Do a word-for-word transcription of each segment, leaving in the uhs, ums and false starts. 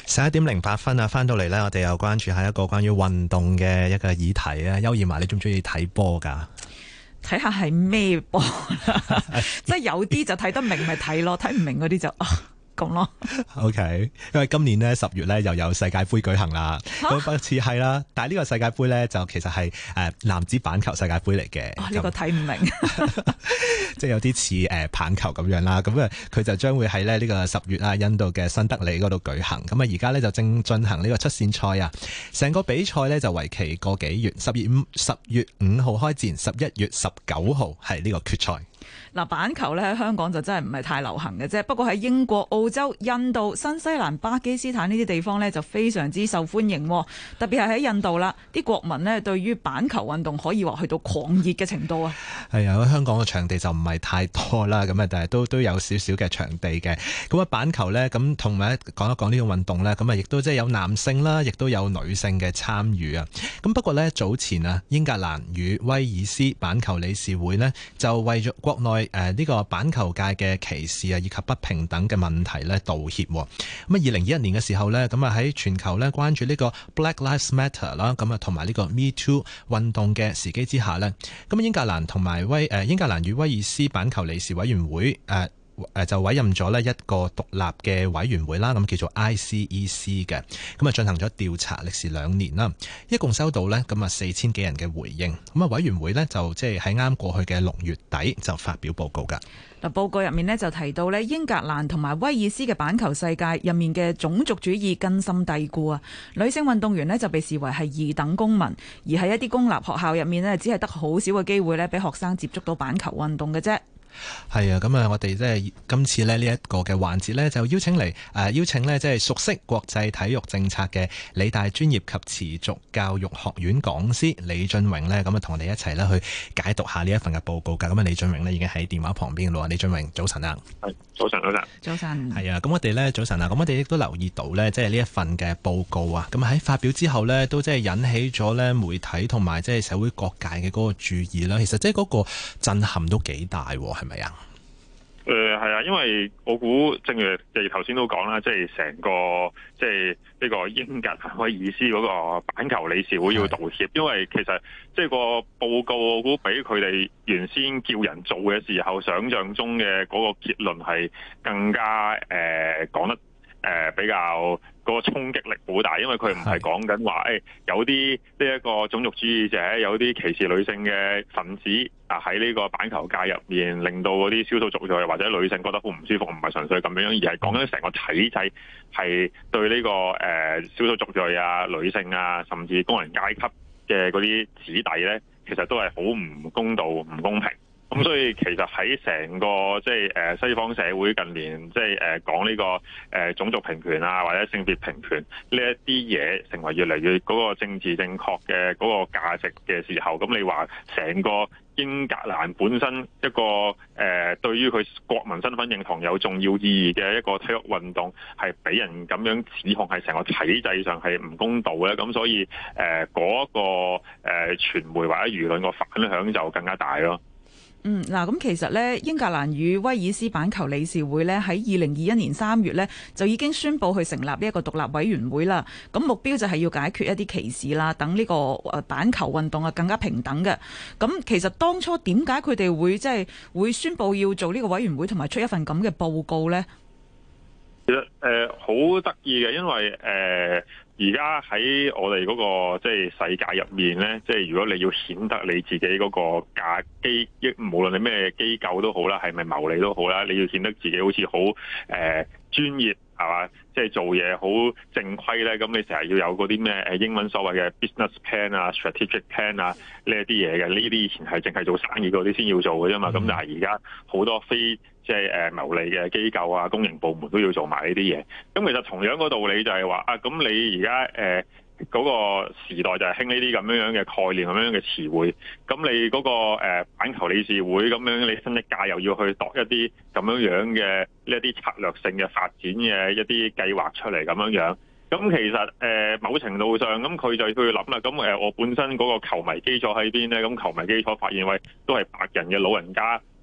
十一點零八分啊，翻到嚟呢，我哋又關注下一個關於運動嘅一個議題啊。邱嬿汶，你中唔中意睇波噶？ 睇下係咩波，即係有啲就睇得明咪睇咯，睇唔明嗰啲就啊咁咯。 OK， 因為今年呢，十月呢又有世界盃舉行啦，咁不似係啦，但係呢個世界盃呢，就其實係誒男子板球世界盃嚟嘅。 呢、呢個睇唔明， 即係有啲似誒棒球咁樣啦。咁啊，佢就將會喺咧呢個十月啊，印度嘅新德里嗰度舉行。咁啊，而家呢，就正進行呢個出線賽啊。成個比賽呢，就為期個幾月，十月五十月五號開戰，十一月十九號係呢個決賽。 嗱，板球咧喺香港就真係唔係太流行嘅啫，不過喺英國、澳洲、印度、新西蘭、巴基斯坦呢啲地方呢，就非常之受歡迎，特別係喺印度啦，啲國民呢對於板球運動可以話去到狂熱嘅程度啊。 係啊，香港嘅場地就唔係太多啦，咁啊，但係都都有少少嘅場地嘅。咁啊，板球呢，咁同埋講一講呢個運動呢，咁啊，亦都即係有男性啦，亦都有女性嘅參與啊。咁不過呢，早前啊，英格蘭與威爾斯板球理事會呢，就為咗國內誒呢、呃這個板球界嘅歧視啊，以及不平等嘅問題咧道歉。咁啊，二零二一年嘅時候咧，咁啊喺全球咧關注呢個 Black Lives Matter 啦，咁啊同埋呢個 Me Too 運動嘅時機之下咧，咁英格蘭同埋威誒英格蘭與威爾斯板球理事委員會誒。呃誒就委任咗呢一個獨立嘅委員會啦，咁叫做 I C E C 嘅，咁啊進行咗調查，歷時兩年啦，一共收到呢咁啊四千幾人嘅回應，咁啊委員會呢，就即係喺啱過去嘅六月底就發表報告㗎。 嗱，報告入面呢，就提到呢英格蘭同埋威爾斯嘅板球世界入面嘅種族主義根深蒂固啊，女性運動員呢，就被視為係二等公民，而喺一啲公立學校入面呢，只係得好少嘅機會呢，俾學生接觸到板球運動嘅啫。 係啊，咁啊，我哋即係今次咧呢一個嘅環節呢，就邀請嚟誒、呃、邀請呢即係熟悉國際體育政策嘅理大專業及持續教育學院講師李峻嶸呢，咁啊同我哋一齊呢去解讀下呢一份嘅報告噶。咁啊，李峻嶸呢已經喺電話旁邊咯。李峻嶸，早晨啊！ 係早晨，早晨， 早晨。 係啊，咁我哋呢，早晨啊，咁我哋亦都留意到呢，即係呢一份嘅報告啊，咁喺發表之後呢，都即係引起咗呢媒體同埋即係社會各界嘅嗰個注意啦。其實即係嗰個震撼都幾大，係咪啊？ 誒係啊，因為我估正如你頭先都講啦，即係成個即係呢個英格蘭威爾斯嗰個板球理事會要道歉，因為其實即係個報告我估比佢哋原先叫人做嘅時候想像中嘅嗰個結論係更加誒講得誒比較嗰個衝擊力好大，因為佢唔係講緊話誒有啲呢一個種族主義者，有啲歧視女性嘅分子啊喺呢個板球界入面，令到嗰啲少數族裔或者女性覺得好唔舒服，唔係純粹咁樣，而係講緊成個體制係對呢、這個誒、呃、少數族裔啊、女性啊，甚至工人階級嘅嗰啲子弟咧，其實都係好唔公道、唔公平。咁所以其實喺成個即係誒西方社會近年即係誒講呢個誒種族平權啊或者性別平權呢一啲嘢成為越嚟越嗰個政治正確嘅嗰個價值嘅時候，咁你話成個英格蘭本身一個誒、呃、對於佢國民身份認同有重要意義嘅一個體育運動，係俾人咁樣指控係成個體制上係唔公道咧，咁所以誒嗰、呃那個誒、呃、傳媒或者輿論個反響就更加大咯。 嗯，嗱，咁其實咧，英格蘭與威爾斯板球理事會咧喺二零二一年三月咧就已經宣布去成立呢一個獨立委員會啦。咁目標就係要解決一啲歧視啦，等呢個誒板球運動啊更加平等嘅。咁其實當初點解佢哋會即係會宣布要做呢個委員會同埋出一份咁嘅報告咧？ 其實誒好得意嘅，因為誒而家喺我哋嗰個即係世界入面咧，即係如果你要顯得你自己嗰個價機，無論你咩機構都好啦，係咪牟利都好啦，你要顯得自己好似好誒專業係嘛，即係做嘢好正規咧，咁你成日要有嗰啲咩誒英文所謂嘅 business plan 啊、strategic plan 啊呢一啲嘢嘅，呢啲以前係淨係做生意嗰啲先要做嘅啫嘛，咁、嗯、但係而家好多非即係誒牟利嘅機構啊、公營部門都要做埋呢啲嘢。咁其實同樣個道理就係話啊，咁你而家誒嗰個時代就係興呢啲咁樣樣嘅概念、咁樣嘅詞彙。咁你嗰個誒板球理事會咁樣，你新一屆又要去度一啲咁樣樣嘅呢一啲策略性嘅發展嘅一啲計劃出嚟咁樣樣。咁其實誒、呃、某程度上，咁佢就去諗啦。咁誒我本身嗰個球迷基礎喺邊咧？咁球迷基礎發現喂，都係白人嘅老人家。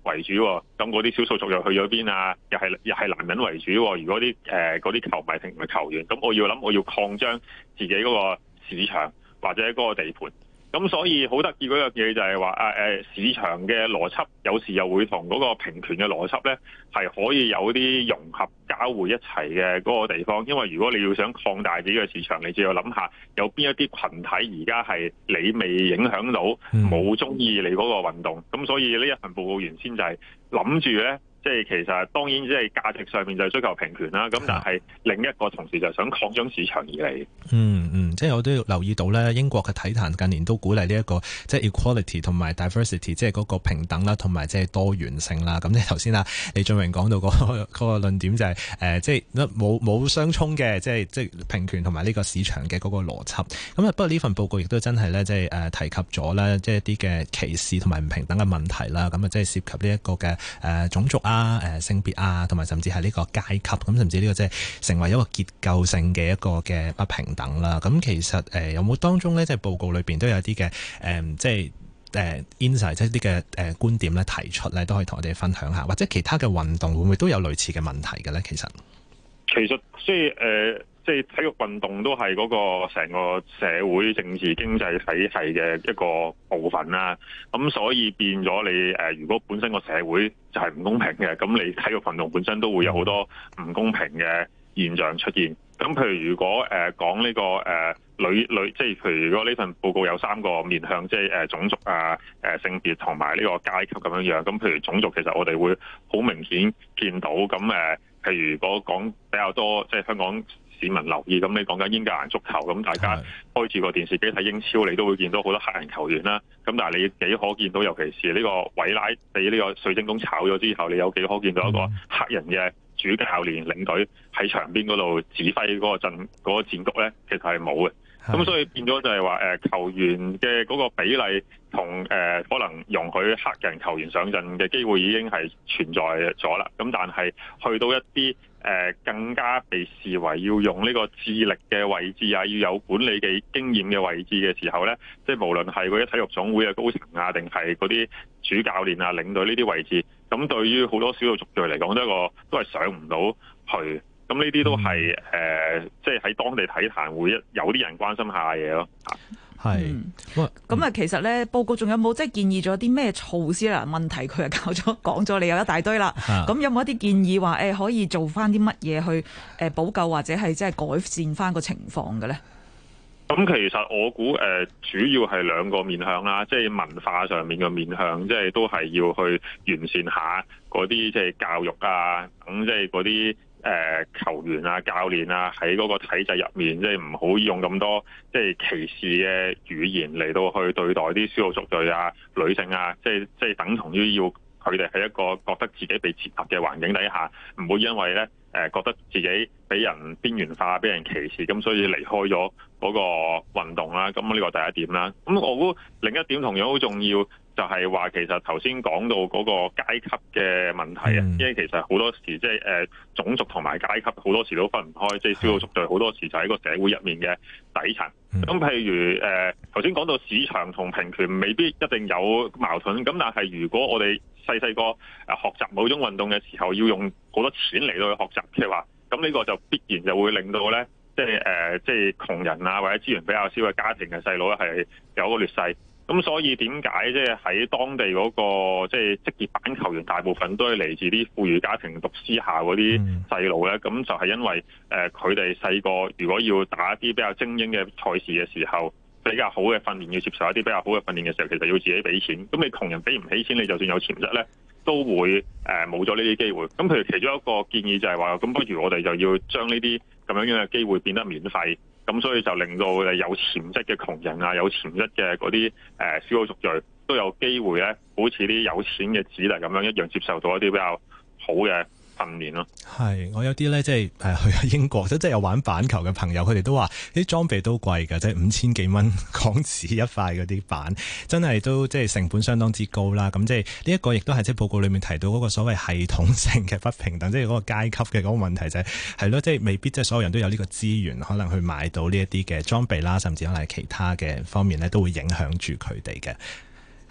為主，咁嗰啲少數族裔去咗邊啊？又係又係男人為主。如果啲誒嗰啲球迷同埋球員，咁我要諗我要擴張自己嗰個市場或者嗰個地盤。咁所以好得意嗰樣嘢就係話啊誒市場嘅邏輯有時又會同嗰個平權嘅邏輯咧係可以有啲融合交匯一齊嘅嗰個地方。因為如果你要想擴大自己嘅市場，你就要諗下有邊一啲群體而家係你未影響到，冇中意你嗰個運動。咁所以呢一份報告原先就係諗住咧。即係其實當然即係價值上面就係追求平權啦，咁但係另一個同時就係想擴張市場而嚟。 嗯嗯，即係我都留意到咧，英國嘅體壇近年都鼓勵呢一個即係 equality 同埋 diversity，即係嗰個平等啦，同埋即係多元性啦。咁即係頭先啊李峻嶸講到嗰個嗰個論點就係誒，即係冇冇相衝嘅，即係即係平權同埋呢個市場嘅嗰個邏輯。咁啊，不過呢份報告亦都真係咧，即係誒提及咗咧，即係一啲嘅歧視同埋唔平等嘅問題啦。咁啊，即係涉及呢一個嘅誒種族啊。啊，誒性別啊，同埋甚至係呢個階級，咁甚至呢個即係成為一個結構性嘅一個嘅不平等啦。咁其實誒、呃、有冇當中咧，即係報告裏邊都有啲嘅誒，即係誒 insight 即係啲嘅誒觀點咧提出咧，都可以同我哋分享下，或者其他嘅運動會唔會都有類似嘅問題嘅咧？其實其實即係誒。即係體育運動都係嗰個成個社會政治經濟體系嘅一個部分啦。咁所以變咗你誒，如果本身個社會就係唔公平嘅，咁你體育運動本身都會有好多唔公平嘅現象出現。咁譬如如果誒講呢個誒女女，即係譬如如果呢份報告有三個面向，即係誒種族啊、誒性別同埋呢個階級咁樣樣。咁譬如種族，其實我哋會好明顯見到。咁誒，譬如如果講比較多，即係香港市民留意，咁你講緊英格蘭足球，咁大家開住個電視機睇英超，你都會見到好多黑人球員啦。咁但係你幾可見到，尤其是呢個韋拉被呢個水晶宮炒咗之後，你有幾可見到一個黑人嘅主教練領隊喺場邊嗰度指揮嗰個陣嗰、嗰個戰局咧？其實係冇嘅。咁所以變咗就係話誒球員嘅嗰個比例同誒、呃、可能容許黑人球員上陣嘅機會已經係存在咗啦。咁但係去到一啲誒、呃、更加被視為要用呢個智力嘅位置啊，要有管理嘅經驗嘅位置嘅時候咧，即係無論係嗰啲體育總會嘅高層啊，定係嗰啲主教練啊、領隊呢啲位置，咁對於好多少數族裔嚟講，都係一個都係上唔到去。咁呢啲都係誒、呃，即係喺當地體壇會有啲人關心下嘢咯。 係， 咁、嗯、啊，其實咧報告仲有冇即係建議咗啲咩措施啦？問題佢又搞咗講咗，你有一大堆啦。咁有冇一啲建議話誒、欸、可以做翻啲乜嘢去誒補救或者係即係改善翻個情況嘅咧？ 咁其實我估誒主要係兩個面向啦，即係文化上面嘅面向，即係都係要去完善下嗰啲即係教育啊，等即係嗰啲誒球員啊、教練啊喺嗰個體制入面，即係唔好用咁多即係歧視嘅語言嚟到去對待啲少數族裔啊、女性啊，即係即係等同於要佢哋喺一個覺得自己被踐踏嘅環境底下，唔會因為咧誒覺得自己俾人邊緣化、俾人歧視，咁所以離開咗嗰個運動啦。咁呢個第一點啦。咁我估另一點同樣好重要，就係話其實頭先講到嗰個階級嘅問題啊，嗯、因為其實好多時即係誒種族同埋階級好多時都分唔開，即係少數族裔好多時就喺個社會入面嘅底層。咁、嗯、譬如誒頭先講到市場同平權未必一定有矛盾，咁但係如果我哋細細個誒學習某種運動嘅時候要用好多錢嚟到去學習嘅話，咁呢個就必然就會令到咧，即係誒即係窮人啊或者資源比較少嘅家庭嘅細路咧係有個劣勢。咁所以點解即係喺當地嗰個即係職業板球員大部分都係嚟自啲富裕家庭讀私校嗰啲細路咧？咁、嗯、就係因為誒佢哋細個如果要打一啲比較精英嘅賽事嘅時候，比較好嘅訓練要接受一啲比較好嘅訓練嘅時候，其實要自己俾錢。咁你窮人俾唔起錢，你就算有潛質咧，都會誒冇咗呢啲機會。咁譬如其中一個建議就係話，咁不如我哋就要將呢啲咁樣樣嘅機會變得免費。咁所以就令到誒有潛質嘅窮人啊，有潛質嘅嗰啲誒少數族裔都有機會咧，好似啲有錢嘅子弟咁樣一樣接受到一啲比較好嘅訓練咯。係， 我有啲咧即係誒去咗英國，即係有玩板球嘅朋友，佢哋都話啲裝備都貴㗎，即係五千幾蚊港紙一塊嗰啲板，真係都即係成本相當之高啦。咁即係呢一個亦都係即係報告裡面提到嗰個所謂系統性嘅不平等，即係嗰個階級嘅嗰個問題就係係咯，即係未必即係所有人都有呢個資源，可能去買到呢一啲嘅裝備啦，甚至可能係其他嘅方面咧，都會影響住佢哋嘅。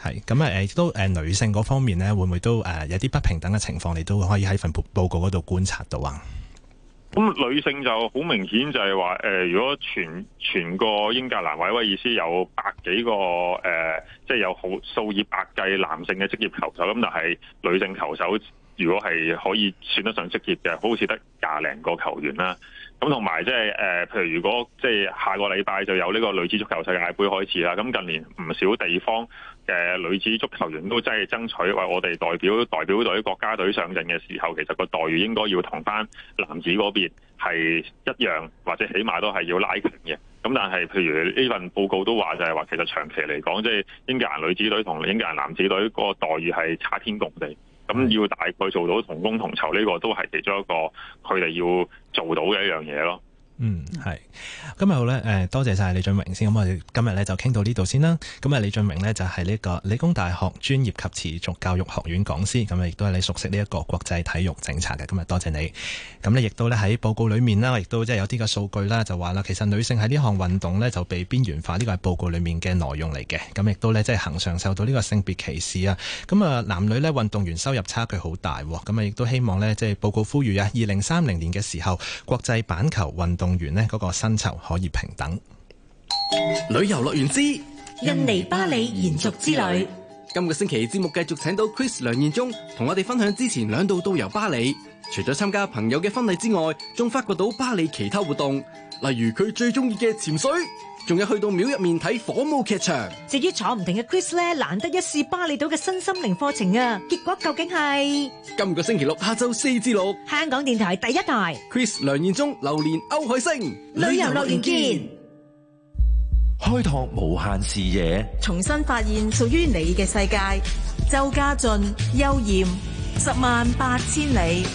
係咁啊誒都誒女性嗰方面咧，會唔會都誒有啲不平等嘅情況，你都可以喺份報報告嗰度觀察到啊？ 咁女性就好明顯就係話誒，如果全全個英格蘭或者威爾斯有百幾個誒、呃，即係有好數以百計男性嘅職業球手，咁但係女性球手如果係可以算得上職業嘅，好似得廿零個球員啦。咁同埋即係誒，譬如如果即係下個禮拜就有呢個女子足球世界盃開始啦。咁近年唔少地方嘅女子足球員都真係爭取為我哋代表代表隊國家隊上陣嘅時候，其實個待遇應該要同翻男子嗰邊係一樣，或者起碼都係要拉近嘅。咁但係譬如呢份報告都話就係話，其實長期嚟講，即係英格蘭女子隊同英格蘭男子隊個待遇係差天共地。咁要大概做到同工同酬，呢個都係其中一個佢哋要做到嘅一樣嘢咯。 嗯，係。今日好咧，誒，多謝晒李峻嶸先。咁我哋今日咧就傾到呢度先啦。咁啊，李峻嶸呢，就係呢個理工大學專業及持續教育學院講師，咁啊亦都係你熟悉呢一個國際體育政策嘅。今日多謝你。咁呢亦都咧喺報告裏面啦，亦都即係有啲嘅數據啦，就話啦，其實女性喺呢項運動呢，就被邊緣化，呢個係報告裏面嘅內容嚟嘅。咁亦都呢，即係恆常受到呢個性別歧視啊。咁啊，男女呢，運動員收入差距好大。咁啊，亦都希望呢，即係報告呼籲啊，二零三零年嘅時候，國際板球運動員呢嗰個薪酬可以平等。 旅遊樂園之印尼巴里延續之旅， 今個星期節目繼續請到 Chris 梁彥忠同我哋分享之前兩度到遊巴里，除咗參加朋友嘅婚禮之外，仲發掘到巴里其他活動，例如佢最中意嘅潛水，仲有去到廟入面睇火舞劇場。 至於坐唔定嘅 Chris 咧，難得一試巴厘島嘅新心靈課程啊！結果究竟係今個星期六下晝四至六， 香港電台第一台 Chris 梁彥忠、榴蓮歐海星， 旅遊樂園見， 開拓無限視野， 重新發現屬於你嘅世界。周家俊、邱艷，十萬八千里。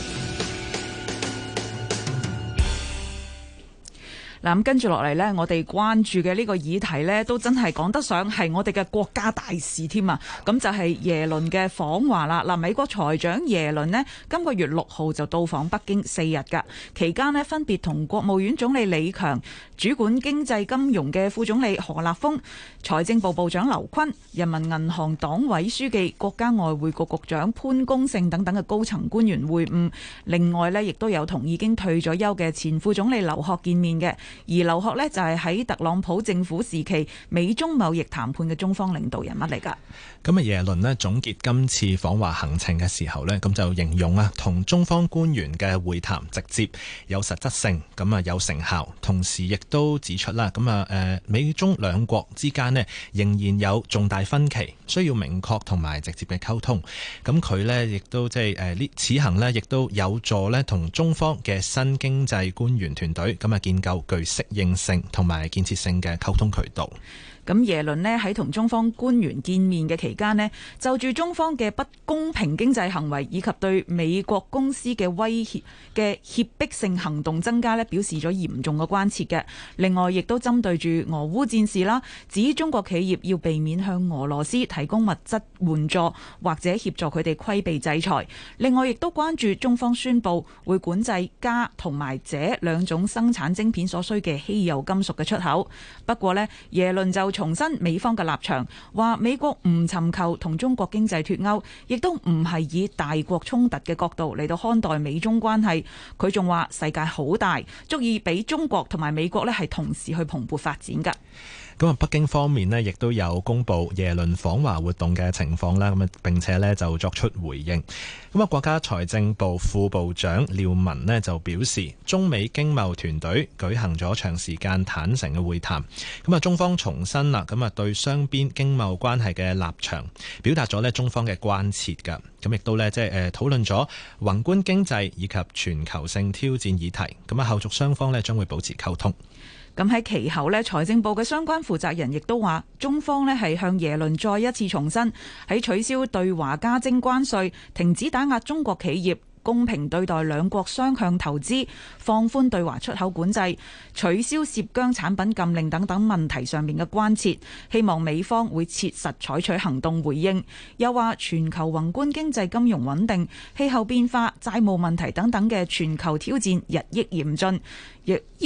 嗱，咁跟住落嚟呢，我哋關注嘅呢個議題呢，都真係講得上係我哋嘅國家大事添啊！咁就係耶倫嘅訪華啦。嗱，美國財長耶倫呢，今個月六號就到訪北京四日㗎，期間呢，分別同國務院總理李強、主管經濟金融嘅副總理何立峰、財政部部長劉昆、人民銀行黨委書記、國家外匯局局長潘功勝等等嘅高層官員會晤。另外呢，亦都有同已經退咗休嘅前副總理劉鶴見面嘅。而劉鶴呢，就係喺特朗普政府時期美中貿易談判嘅中方領導人物嚟㗎。 咁啊，耶倫呢總結今次訪華行程嘅時候呢，咁就形容啊，同中方官員嘅會談直接有實質性，咁啊有成效，同時亦都指出啦，咁啊誒美中兩國之間呢仍然有重大分歧，需要明確同埋直接嘅溝通。咁佢呢亦都即係誒呢此行呢亦都有助呢同中方嘅新經濟官員團隊咁啊建構具適應性同埋建設性嘅溝通渠道。 咁耶倫呢喺同中方官員見面嘅期間呢，就住中方嘅不公平經濟行為以及對美國公司嘅威脅嘅脅迫性行動增加呢，表示咗嚴重嘅關切嘅。另外，亦都針對住俄烏戰事啦，指中國企業要避免向俄羅斯提供物質援助或者協助佢哋規避制裁。另外，亦都關注中方宣布會管制鎵同埋鍺兩種生產晶片所需嘅稀有金屬嘅出口。不過呢，耶倫就重申美方嘅立場，話美國唔尋求同中國經濟脫鈎，亦都唔係以大國衝突嘅角度嚟到看待美中關係。佢仲話世界好大，足以俾中國同埋美國咧係同時去蓬勃發展㗎。 咁啊，北京方面呢亦都有公布耶倫訪華活動嘅情況啦，咁啊並且呢就作出回應。咁啊，國家財政部副部長廖文呢就表示，中美經貿團隊舉行咗長時間坦誠嘅會談。咁啊，中方重申啦，咁啊對雙邊經貿關係嘅立場，表達咗呢中方嘅關切㗎。咁亦都呢即係誒討論咗宏觀經濟以及全球性挑戰議題。咁啊，後續雙方呢將會保持溝通。 咁喺其後呢，財政部嘅相關負責人亦都話，中方呢係向耶倫再一次重申，喺取消對華加徵關稅、停止打壓中國企業、公平對待兩國雙向投資、放寬對華出口管制、取消涉疆產品禁令等等問題上面嘅關切，希望美方會切實採取行動回應。又話全球宏觀經濟金融穩定、氣候變化、債務問題等等嘅全球挑戰日益嚴峻，亦要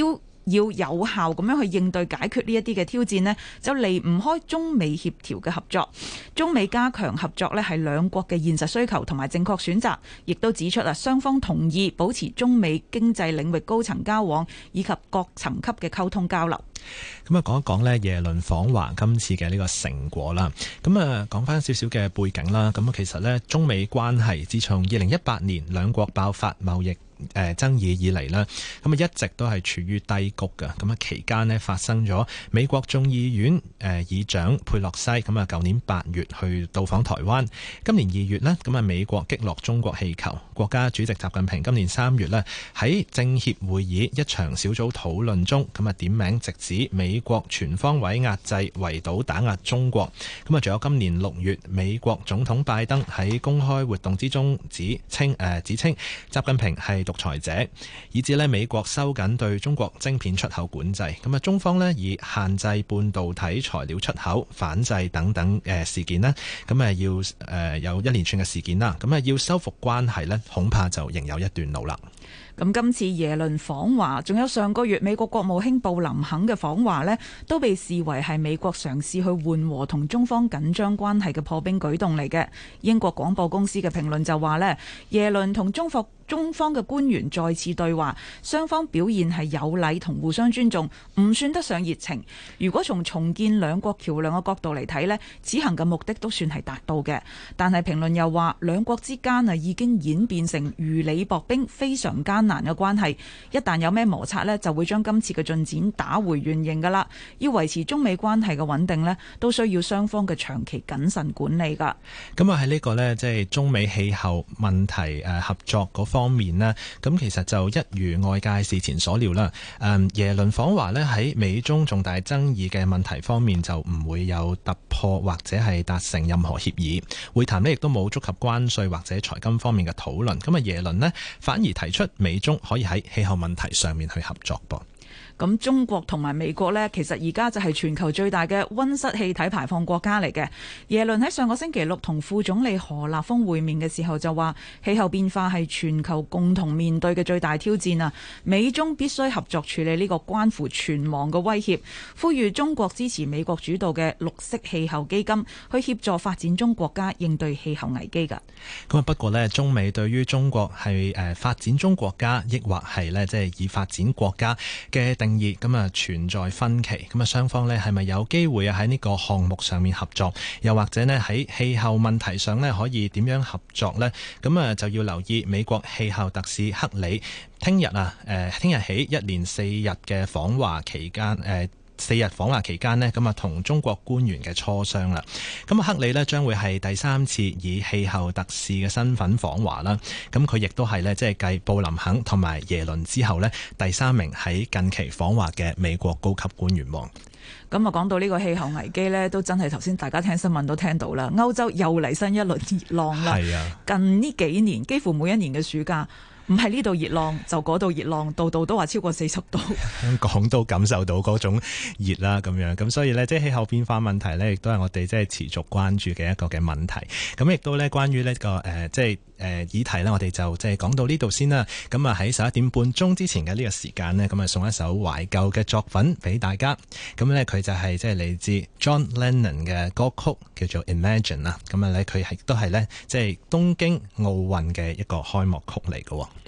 要有效咁樣去應對解決呢一啲嘅挑戰呢，就離唔開中美協調嘅合作。中美加強合作呢係兩國嘅現實需求同埋正確選擇，亦都指出啊，雙方同意保持中美經濟領域高層交往以及各層級嘅溝通交流。 咁啊，講一講呢耶倫訪華今次嘅呢個成果啦。咁啊，講翻少少嘅背景啦。咁啊，其實呢，中美關係自從二零一八年兩國爆發貿易誒爭議以嚟啦，咁啊一直都係處於低谷嘅。咁啊期間呢，發生咗美國眾議院誒議長佩洛西咁啊，舊年八月去到訪台灣。今年二月呢，咁啊美國擊落中國氣球。國家主席習近平今年三月呢，喺政協會議一場小組討論中，咁啊點名直指美國全方位壓制圍堵打壓中國。咁啊仲有今年六月美國總統拜登喺公開活動之中指稱誒指稱習近平係獨裁者，以至咧美國收緊對中國晶片出口管制。咁啊，中方咧以限制半導體材料出口、反制等等誒事件咧，咁啊要誒有一連串嘅事件啦。咁啊要修復關係咧，恐怕就仍有一段路啦。 咁今次耶倫訪華，仲有上個月美國國務卿布林肯嘅訪華呢，都被視為係美國嘗試去緩和同中方緊張關係嘅破冰舉動嚟嘅。英國廣播公司嘅評論就話呢，耶倫同中方中方嘅官員再次對話，雙方表現係有禮同互相尊重，唔算得上熱情。如果從重建兩國橋梁嘅角度嚟睇呢，此行嘅目的都算係達到嘅。但係評論又話，兩國之間啊已經演變成如履薄冰、非常艱難嘅關係。一旦有咩摩擦呢，就會將今次嘅進展打回原形噶啦。要維持中美關係嘅穩定呢，都需要雙方嘅長期謹慎管理噶。 咁啊喺呢個呢，即係中美氣候問題誒合作嗰方面呢，咁其實就一如外界事前所料啦。誒耶倫訪華呢，喺美中重大爭議嘅問題方面就唔會有突破或者係達成任何協議。會談呢亦都冇觸及關稅或者財金方面嘅討論。咁啊耶倫呢，反而提出美中可以喺氣候問題上面去合作噃。 咁中國同埋美國呢，其實而家就係全球最大嘅溫室氣體排放國家嚟嘅。耶倫喺上個星期六同副總理何立峰會面嘅時候就話，氣候變化係全球共同面對嘅最大挑戰啊！美中必須合作處理呢個關乎存亡嘅威脅，呼籲中國支持美國主導嘅綠色氣候基金，去協助發展中國家應對氣候危機㗎。 咁啊不過呢，中美對於中國係誒發展中國家，抑或係呢即係以發展國家嘅定義咁啊存在分歧。咁啊雙方呢係咪有機會啊喺呢個項目上面合作，又或者呢喺氣候問題上呢可以點樣合作呢？咁啊就要留意美國氣候特使克里聽日啊誒聽日起一連四日嘅訪華期間誒四日訪華期間呢，咁啊同中國官員嘅磋商啦。咁啊克里呢將會係第三次以氣候特使嘅身份訪華啦。咁佢亦都係呢，即係繼布林肯同埋耶倫之後呢，第三名喺近期訪華嘅美國高級官員喎。 咁啊，講到呢個氣候危機呢，都真係頭先大家聽新聞都聽到啦。歐洲又嚟新一輪熱浪啦。係啊，近呢幾年幾乎每一年嘅暑假，唔係呢度熱浪就嗰度熱浪，度度都話超過四十度。 香港都感受到嗰種熱啦，咁樣咁，所以呢，即係氣候變化問題呢，亦都係我哋即係持續關注嘅一個嘅問題。咁亦都呢，關於呢、這個誒、呃，即係。誒議題呢，我哋就即係講到呢度先啦。咁啊喺十一點半鐘之前嘅呢個時間呢，咁啊送一首懷舊嘅作品俾大家。咁呢，佢就係即係嚟自 John Lennon 嘅歌曲，叫做 Imagine 啦。咁啊咧佢係都係呢，即係東京奧運嘅一個開幕曲嚟嘅。